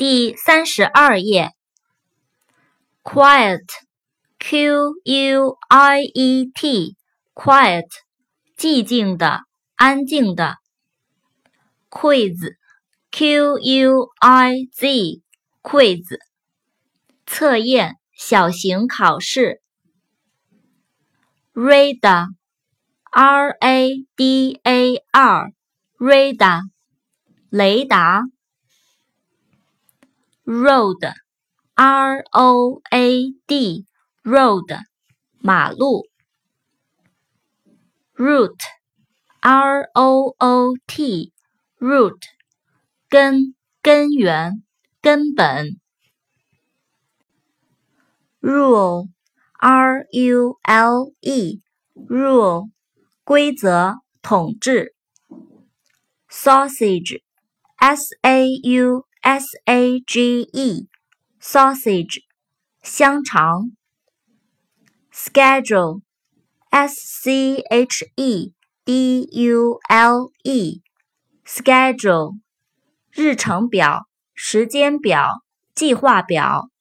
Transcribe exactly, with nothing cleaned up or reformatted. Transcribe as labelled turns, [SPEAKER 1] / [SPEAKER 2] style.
[SPEAKER 1] 第三十二页 Quiet Q U I E T Quiet 寂静的，安静的 Quiz Q U I Z Quiz 测验，小型考试 Radar R A D A R Radar 雷达 Road R O A D Road 马路 Root R O O T Root 根根源根本 Rule R U L E Rule 规则统治 Sausage S A U S A G E Sausage 香肠 Schedule S C H E D U L E Schedule 日程表、时间表、计划表